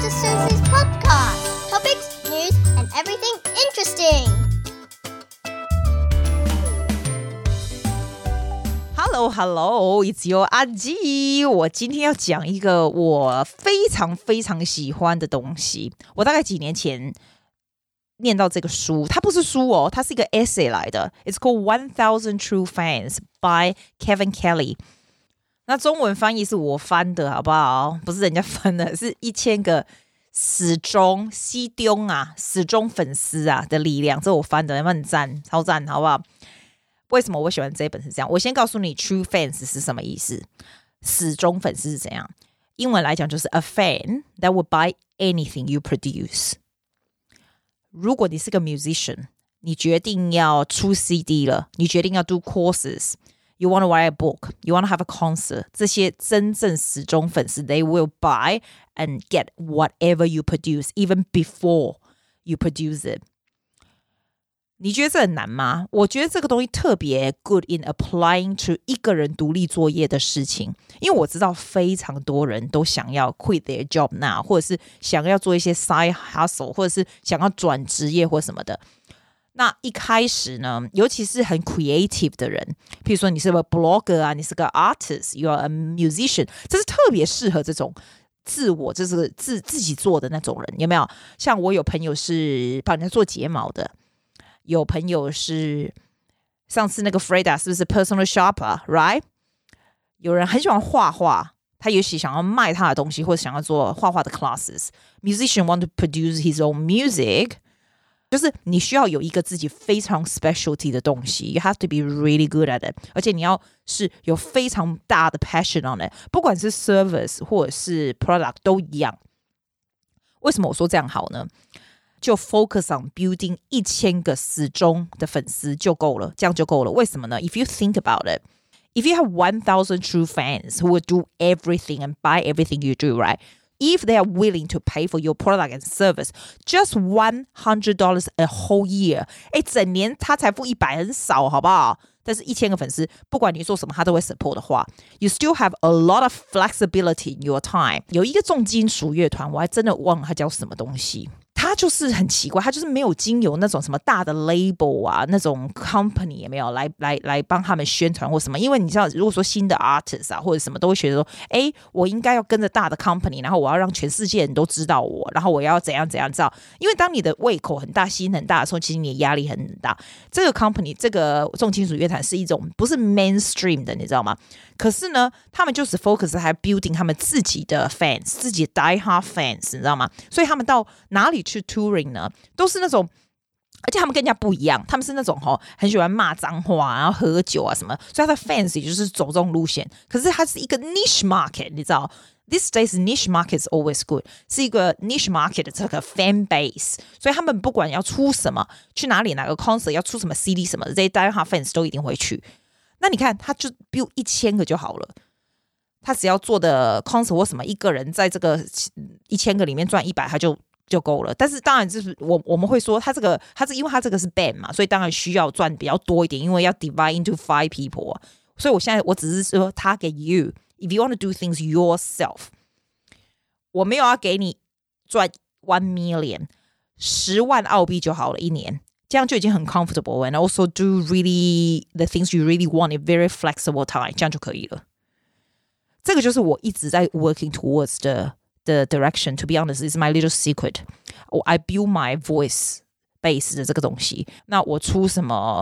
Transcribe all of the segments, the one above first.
Sister Susie's podcast. Topics, news, and everything interesting. Hello, it's your 阿基。我今天要講一個我非常非常喜歡的東西。我大概幾年前念到這個書，它不是書哦，它是一個 essay 來的。It's called 1000 True Fans by Kevin Kelly。那中文翻譯是我翻的，好不好？不是人家翻的，是1000個死忠粉絲啊的力量，這我翻的，有沒有很讚？超讚，好不好？為什麼我喜歡這一本是這樣？我先告訴你 True Fans 是什麼意思，死忠粉絲是怎樣？英文來講就是 a fan that will buy anything you produce。如果你是個 musician， 你決定要出 CD 了，你決定要 do courses。You want to write a book, you want to have a concert. 這些真正死忠粉絲 they will buy and get whatever you produce, even before you produce it. 你覺得這很難嗎？我覺得這個東西特別 good in applying to 一個人獨立作業的事情，因為我知道非常多人都想要 quit their job now, 或者是想要做一些 side hustle, 或者是想要轉職業或什麼的。那一開始呢，尤其是很 creative 的人，譬如說你是個 blogger 啊，你是個 artist, you are a musician， 這是特別適合這種自我，就是自己做的那種人，有沒有？像我有朋友是幫人家做睫毛的，有朋友是上次那個 Freda 是不是 personal shopper, right？ 有人很喜歡畫畫，他也許想要賣他的東西，或者想要做畫畫的 classes。Musician want to produce his own music。就是你需要有一個自己非常 specialty 的東西 You have to be really good at it 而且你要是有非常大的 passion on it 不管是 service 或者是 product 都一樣為什麼我說這樣好呢就 focus on building 1000個死忠的粉絲就夠了這樣就夠了為什麼呢 If you think about it If you have 1000 true fans who will do everything and buy everything you do right If they are willing to pay for your product and service, just $100 a whole year. 整年他才付100很少，好不好？但是1000個粉絲，不管你做什麼，他都會 support 的話 ，you still have a lot of flexibility in your time. 有一個重金屬樂團，我還真的忘了它叫什麼東西。他就是很奇怪，他就是沒有經由那種什麼大的 label 啊，那種 company 也沒有來幫他們宣傳或什麼。因為你知道，如果說新的 artist 啊或者什麼，都會覺得說，哎，我應該要跟着大的 company， 然後我要讓全世界人都知道我，然後我要怎樣知道。因為當你的胃口很大、心很大的時候，其實你的壓力很大。這個 company 這個重金屬樂團是一種不是 mainstream 的，你知道嗎？可是呢，他們就是 focus 在 building 他們自己的 fans， 自己的 die hard fans， 你知道嗎？所以他們到哪裡去 touring 呢？都是那種，而且他們跟人家不一樣，他們是那種很喜歡罵髒話，然後喝酒啊什麼，所以他的 fans 也就是走這種路線。可是它是一個 niche market， 你知道 ？These days niche market is always good， 是一個 niche market 的這個 fan base， 所以他們不管要出什麼，去哪裡哪個 concert， 要出什麼 CD 什麼的，這些 die hard fans 都一定會去。那你看，他就 build 1000個就好了。他只要做的 concert 或什麼，一個人在這個1000個裡面賺100，他就夠了。但是當然就是我們會說，他是因為他這個是 band 嘛，所以當然需要賺比較多一點，因為要 divide into 5 people。所以我現在我只是說 target you if you want to do things yourself， 我沒有要給你賺1 million 10萬澳幣就好了一年。這樣就已經很 comfortable and also do really the things you really want in very flexible time 這樣就可以了這個就是我一直在 working towards the direction to be honest is my little secret I build my voice base 的這個東西那我出什麼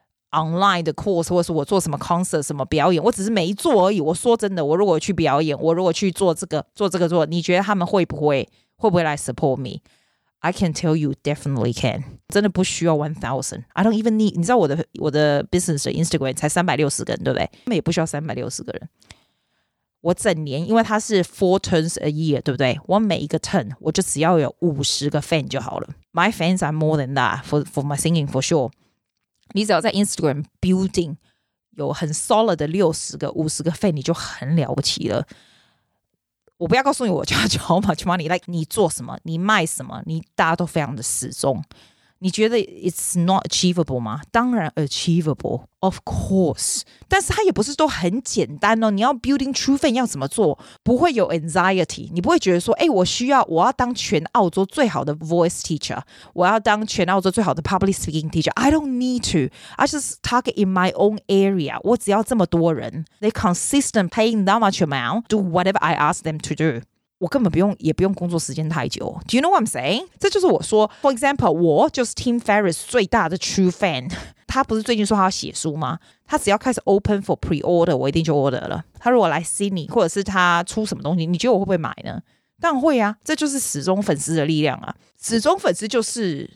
online 的 course 或者是我做什麼 concert 什麼表演我只是沒做而已我說真的我如果去表演我如果去做這個你覺得他們會不會來 support me I can tell you definitely can 真的不需要 1000 I don't even need 你知道我的 business 的 Instagram 才360個人對不對他們也不需要360個人我整年因為它是4 turns a year 對不對我每一個 turn 我就只要有50個 fan 就好了 My fans are more than that for my singing for sure 你只要在 Instagram building 有很 solid 的60個50個 fan 你就很了不起了我不要告訴你我叫 how much money like 你做什麼你賣什麼你大家都非常的死忠你覺得 it's not achievable 嗎？當然 achievable, of course. 但是它也不是都很簡單哦。你要 building true fan 要怎麼做？不會有 anxiety， 你不會覺得說，我要當全澳洲最好的 voice teacher， 我要當全澳洲最好的 public speaking teacher. I don't need to. I just target in my own area. 我只要這麼多人 ，they consistent paying that much amount, do whatever I ask them to do.我根本也不用工作時間太久。Do you know what I'm saying? 這就是我說 ，For example， 我就是 Tim Ferriss 最大的 true fan。他不是最近說他要寫書嗎？他只要開始 open for pre-order， 我一定就 order 了。他如果來 Sydney， 或者是他出什麼東西，你覺得我會不會買呢？當然會啊，這就是死忠粉絲的力量啊！死忠粉絲就是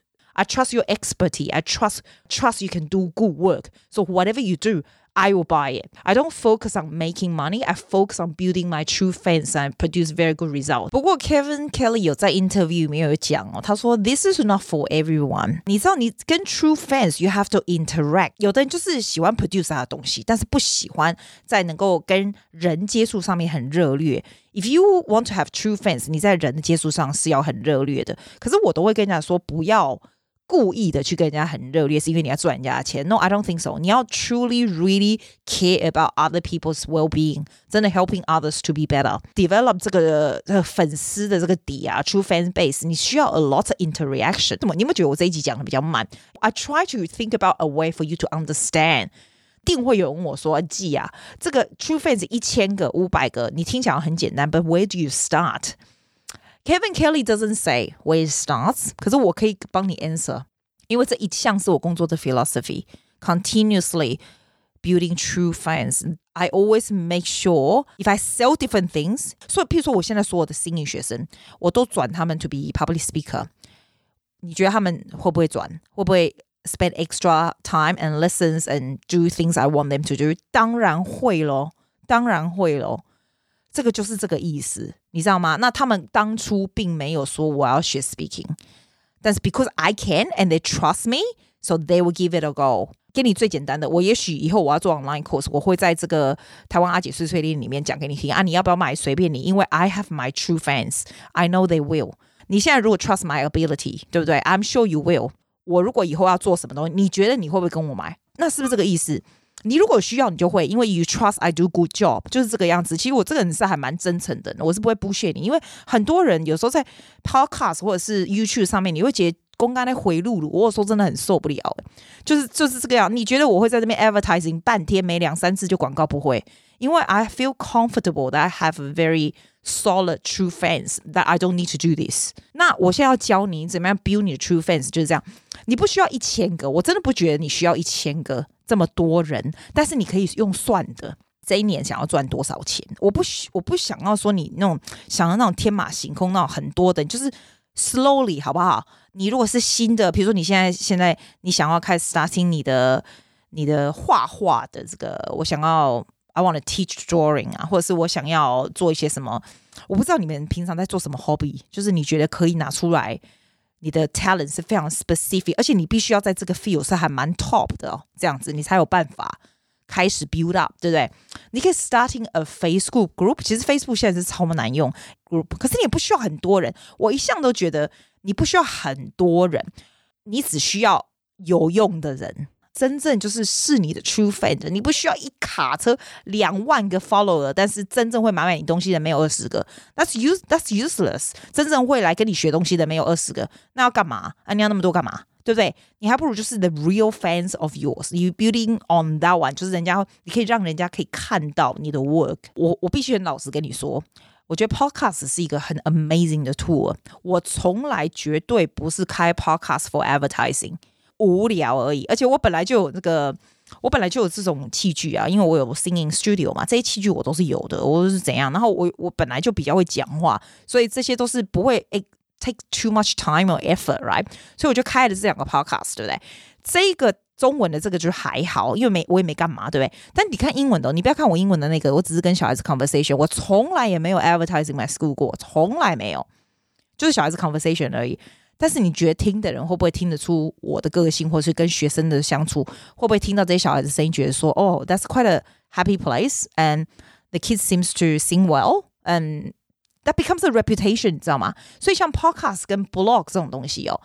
I trust your expertise, I trust you can do good work. So whatever you do.I will buy it. I don't focus on making money. I focus on building my true fans and produce very good results. 不過 Kevin Kelly 有在 interview 裡面有講哦，他說 This is not for everyone. 你知道你跟 true fans you have to interact. 有的人就是喜歡 produce 他的東西，但是不喜歡在能夠跟人接觸上面很熱烈。If you want to have true fans, 你在人的接觸上是要很熱烈的。可是我都會跟人家說不要故意的去跟人家很熱烈，是因為你要賺人家的錢。No, I don't think so. 你要 truly, really care about other people's well-being. 真的 helping others to be better. Develop 這個粉絲的這個底啊 ，true fan base. 你需要 a lot of interaction. 你有沒有覺得我這一集講的比較慢 ？I try to think about a way for you to understand. 定會有人問我說：“季啊，這個 true fans 1000個、500個，你聽起來很簡單 ，but where do you start?”Kevin Kelly doesn't say where it starts， 可是我可以幫你 answer， 因為這一項是我工作的 philosophy， continuously building true fans. I always make sure if I sell different things， 所以譬如說我現在所有的新英學生，我都轉他們 to be public speaker。你覺得他們會不會轉？會不會 spend extra time and lessons and do things I want them to do？ 當然會咯，當然會咯。這個就是這個意思，你知道嗎？那他們當初並沒有說我要學 speaking， 但是 because I can and they trust me, so they will give it a go。給你最簡單的，我也許以後我要做 online course， 我會在這個台灣阿姐碎碎念裡面講給你聽啊，你要不要買隨便你，因為 I have my true fans, I know they will。你現在如果 trust my ability， 對不對 ？I'm sure you will。我如果以後要做什麼東西，你覺得你會不會跟我買？那是不是這個意思？你如果需要，你就會，因為 you trust I do good job， 就是這個樣子。其實我這個人是還蠻真誠的，我是不會 bullshit 你，因為很多人有時候在 podcast 或者是 YouTube 上面，你會覺得公幹在回路，我有時候真的很受不了，就是這個樣。你覺得我會在這邊 advertising 半天沒2-3次就廣告？不會，因為 I feel comfortable that I have a very solid true fans that I don't need to do this。那我現在要教你怎麼樣 build 你的 true fans， 就是這樣。你不需要1000個，我真的不覺得你需要1000個這麼多人，但是你可以用算的，這一年想要賺多少錢？我不想要說你那種想要那種天馬行空那種很多的，就是 slowly 好不好？你如果是新的，比如說你現在你想要開始 starting 你的畫畫的這個，我想要 I want to teach drawing 啊，或者是我想要做一些什麼，我不知道你們平常在做什麼 hobby， 就是你覺得可以拿出來。你的 talent 是非常 specific， 而且你必須要在這個 field 是還蠻 top 的哦，這樣子你才有辦法開始 build up， 對不對？你可以 starting a Facebook group， 其實 Facebook 現在是超難用 group， 可是你也不需要很多人。我一向都覺得你不需要很多人，你只需要有用的人。真正就是你的 true fan， 你不需要一卡車2萬個 follower， 但是真正會買你東西的沒有20個 ，that's useless。真正會來跟你學東西的沒有20個，那要幹嘛？你要那麼多幹嘛？對不對？你還不如就是 the real fans of yours，you building on that one， 就是你可以讓人家可以看到你的 work。我必須很老實跟你說，我覺得 podcast 是一個很 amazing 的 tool。我從來絕對不是開 podcast for advertising。無聊而已，而且我本來就有這種器具啊，因為我有 singing studio 嘛，這些器具我都是有的，我是怎樣，然後我本來就比較會講話，所以這些都是不會take too much time or effort， right？ 所以我就開了這2個 podcast， 對不對？這個中文的這個就還好，因為我也沒幹嘛，對不對？但你看英文的，你不要看我英文的那個，我只是跟小孩子 conversation， 我從來也沒有 advertising my school 過，從來沒有，就是小孩子 conversation 而已。但是你覺得聽的人會不會聽得出我的個性，或是跟學生的相處，會不會聽到這些小孩子聲音，覺得說哦 that's quite a happy place and the kids seems to sing well and that becomes a reputation， 你知道嗎？所以像 podcast 跟 blog 這種東西哦，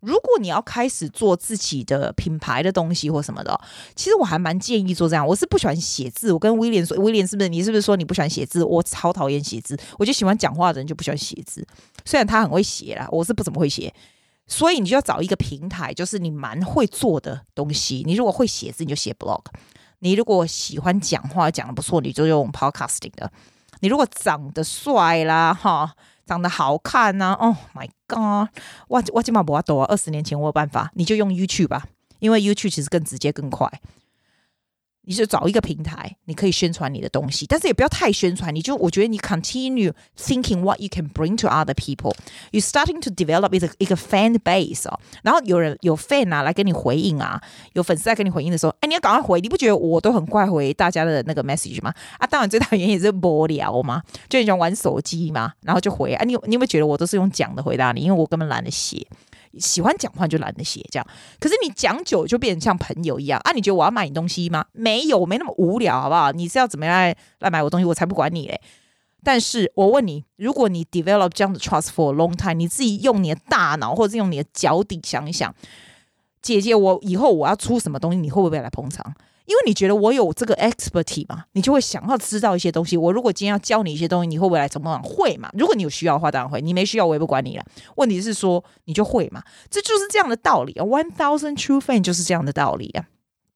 如果你要開始做自己的品牌的東西或什麼的，其實我還蠻建議做這樣。我是不喜歡寫字，我跟威廉說，威廉是不是說你不喜歡寫字？我超討厭寫字，我就喜歡講話的人就不喜歡寫字。雖然他很會寫啦，我是不怎麼會寫。所以你就要找一個平台，就是你蠻會做的東西。你如果會寫字，你就寫 blog； 你如果喜歡講話，講得不錯，你就用 podcasting 的。你如果長得帥啦，哈，長得好看吶、啊、，Oh my god！ 我今嘛不要多啊，20年前我有辦法，你就用 YouTube 吧，因為 YouTube 其實更直接更快。你就找一個平台，你可以宣傳你的東西，但是也不要太宣傳。我覺得你 continue thinking what you can bring to other people. You starting to develop 一個 fan base 哦，然後有 fan 啊來跟你回應啊，有粉絲來跟你回應的時候，你要趕快回。你不覺得我都很快回大家的那個 message 嗎？當然最大原因也是無聊嘛，就很喜歡玩手機嘛，然後就回你有沒有覺得我都是用講的回答你？因為我根本懶得寫。喜歡講話就懶得寫這樣，可是你講久就變成像朋友一樣啊！你覺得我要買你東西嗎？沒有，我沒那麼無聊，好不好？你是要怎麼樣來買我東西，我才不管你嘞！但是我問你，如果你 develop 這樣的 trust for a long time， 你自己用你的大腦或者是用你的腳底想一想，姐姐，我以後我要出什麼東西，你會不會來捧場？因為你覺得我有這個 expertise 嘛，你就會想要知道一些東西。我如果今天要教你一些東西，你會不會來怎麼會嘛？如果你有需要的話，當然會；你沒需要，我也不管你了。問題是說，你就會嘛？這就是這樣的道理啊。1000 True Fan 就是這樣的道理啊。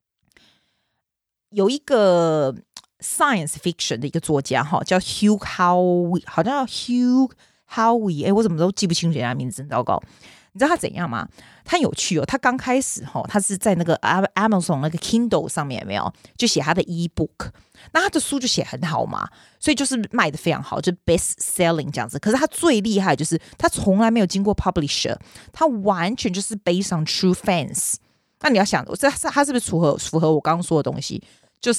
有一個 science fiction 的一個作家哈，叫 Hugh Howey， 好像叫 Hugh Howey， 我怎麼都記不清楚人家名字，很糟糕。你知道他怎樣嗎？他很有趣哦。他剛開始他是在那個 Amazon 那個 Kindle 上面有沒有就寫他的 ebook， 那他的書就寫很好嘛，所以就是賣得非常好，就 best selling 這樣子。可是他最厲害就是他從來沒有經過 publisher， 他完全就是 based on true fans。那你要想，他是不是符合我剛剛說的東西？就是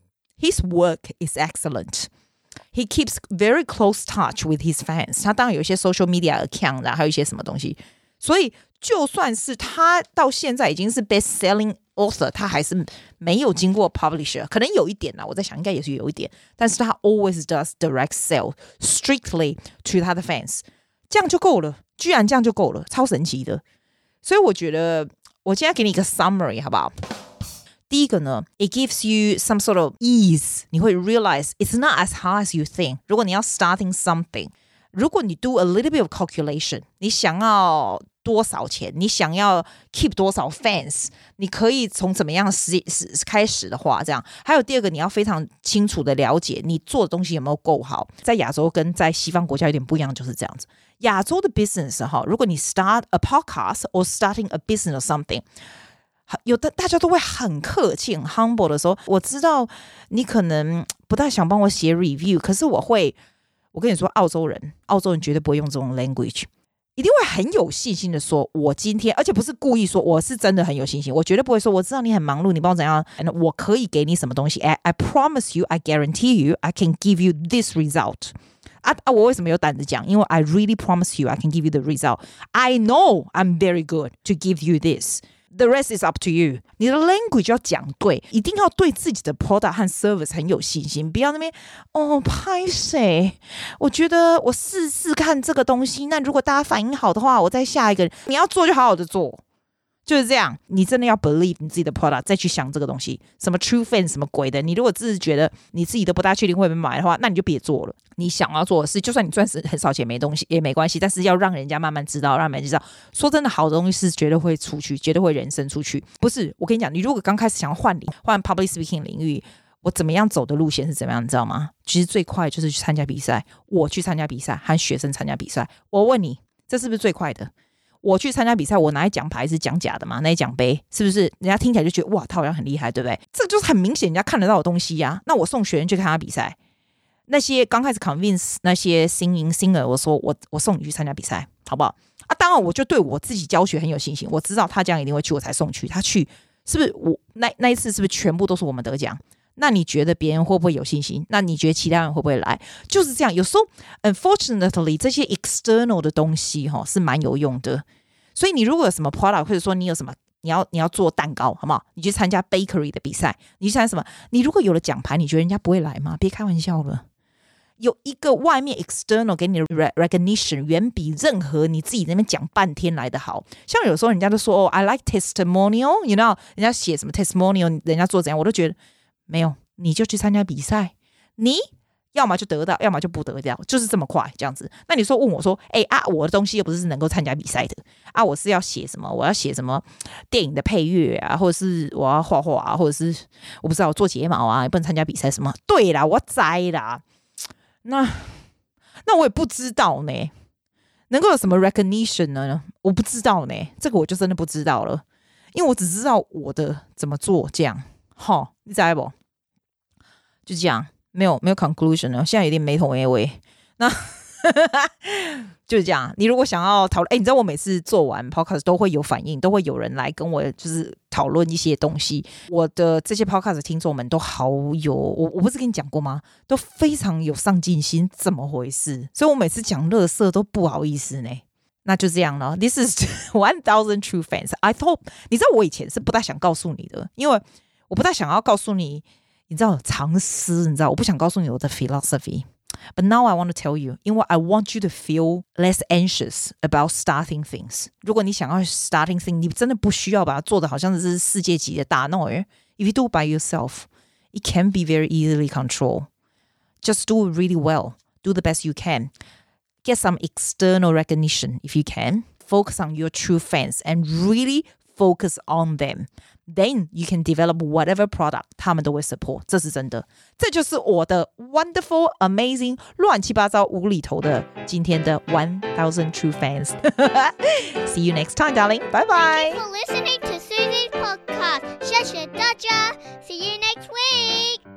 his work is excellent。He keeps very close touch with his fans。他當然有一些 social media account 還有一些什麼東西。所以，就算是他到現在已經是 best-selling author， 他還是沒有經過 publisher， 可能有一點啦，我在想應該也是有一點，但是他 always does direct sell strictly to 他的 fans， 這樣就夠了，居然這樣就夠了，超神奇的。所以我覺得，我今天給你一個 summary， 好不好？第一個呢 ，it gives you some sort of ease， 你會 realize it's not as hard as you think。如果你要 starting something， 如果你 do a little bit of calculation， 你想要多少錢，你想要 keep 多少 fans， 你可以從怎麼樣開始的話，這樣。還有第二個，你要非常清楚的了解你做的東西有沒有夠好。在亞洲跟在西方國家有點不一樣，就是這樣子。亞洲的 business 如果你 start a podcast or starting a business or something， 有的大家都會很客氣很 humble 的時候，我知道你可能不太想幫我寫 review， 可是我跟你說，澳洲人絕對不會用這種 language， 一定會很有信心的說，我今天，而且不是故意說，我是真的很有信心，我絕對不會說，我知道你很忙碌，你幫我怎樣，我可以給你什麼東西 I promise you, I guarantee you, I can give you this result。我為什麼有膽子講？因為 I really promise you, I can give you the result. I know I'm very good to give you this.The rest is up to you. 你的 language 要講對，一定要對自己的 product 和 service 很有信心，不要那邊拍誰？我覺得我試試看這個東西，那如果大家反應好的話，我再下一個。你要做就好好的做，就是這樣。你真的要 believe 你自己的 product， 再去想這個東西，什麼 true fan 什麼鬼的。你如果自己覺得你自己都不大確定會不會買的話，那你就別做了。你想要做的事，就算你賺很少錢沒東西也沒關係，但是要讓人家慢慢知道，讓人家知道。說真的，好的東西是絕對會出去，絕對會人生出去。不是，我跟你講，你如果剛開始想要換 public speaking 領域，我怎麼樣走的路線是怎麼樣，你知道嗎？其實最快就是去參加比賽。我去參加比賽，和學生參加比賽。我問你，這是不是最快的？我去參加比賽，我拿一獎牌是講假的嘛？那一獎杯是不是人家聽起來就覺得哇，他好像很厲害，對不對？這就是很明顯人家看得到的東西呀。那我送學生去看他比賽。那些剛開始 convince 那些singer， 我說我送你去參加比賽，好不好？當然我就對我自己教學很有信心，我知道他這樣一定會去，我才送去。他去是不是我那一次是不是全部都是我們得獎？那你覺得別人會不會有信心？那你覺得其他人會不會來？就是這樣。有時候 unfortunately 這些 external 的東西是蠻有用的。所以你如果有什麼 product， 或者說你有什麼你要做蛋糕，好不好？你去參加 bakery 的比賽，你去參加什麼？你如果有了獎牌，你覺得人家不會來嗎？別開玩笑了。 有一個外面 external 給你的 recognition 遠比任何你自己在那邊講半天來的好。像有時候人家都說I like testimonial, you know, 人家寫什麼 testimonial， 人家做怎樣，我都覺得沒有，你就去參加比賽，你要麼就得到，要麼就不得到，就是這麼快這樣子。那你說問我說，我的東西又不是能夠參加比賽的啊，我是要寫什麼？我要寫什麼電影的配樂啊，或者是我要畫畫啊，或者是我不知道我做睫毛啊，也不能參加比賽什麼？對啦，我知啦。那我也不知道呢，能夠有什麼 recognition 呢？我不知道呢，這個我就真的不知道了，因為我只知道我的怎麼做這樣。好，你知道不？就這樣。沒有 conclusion 了，現在有點沒頭沒尾。那就是這樣。你如果想要討論，你知道我每次做完 podcast 都會有反應，都會有人來跟我就是討論一些東西。我的這些 podcast 聽眾們都好有，我不是跟你講過嗎？都非常有上進心，怎麼回事？所以我每次講垃圾都不好意思呢。那就這樣了。This is 1000 true fans. I thought， 你知道我以前是不太想告訴你的，因為我不太想要告訴你。你知道常識，你知道我不想告訴你我的 philosophy, but now I want to tell you, 因為 I want you to feel less anxious about starting things. 如果你想要 starting things, 你真的不需要把它做的好像是世界級的大 No, if you do it by yourself, it can be very easily controlled. Just do it really well. Do the best you can. Get some external recognition if you can. Focus on your true fans and really focus on them.Then you can develop whatever product 他們都會 support， 這是真的。這就是我的 wonderful, amazing, 亂七八糟無厘頭的今天的1000 true fans. See you next time, darling. Bye bye. Thank you for listening to Susie's podcast. 謝謝大家. See you next week.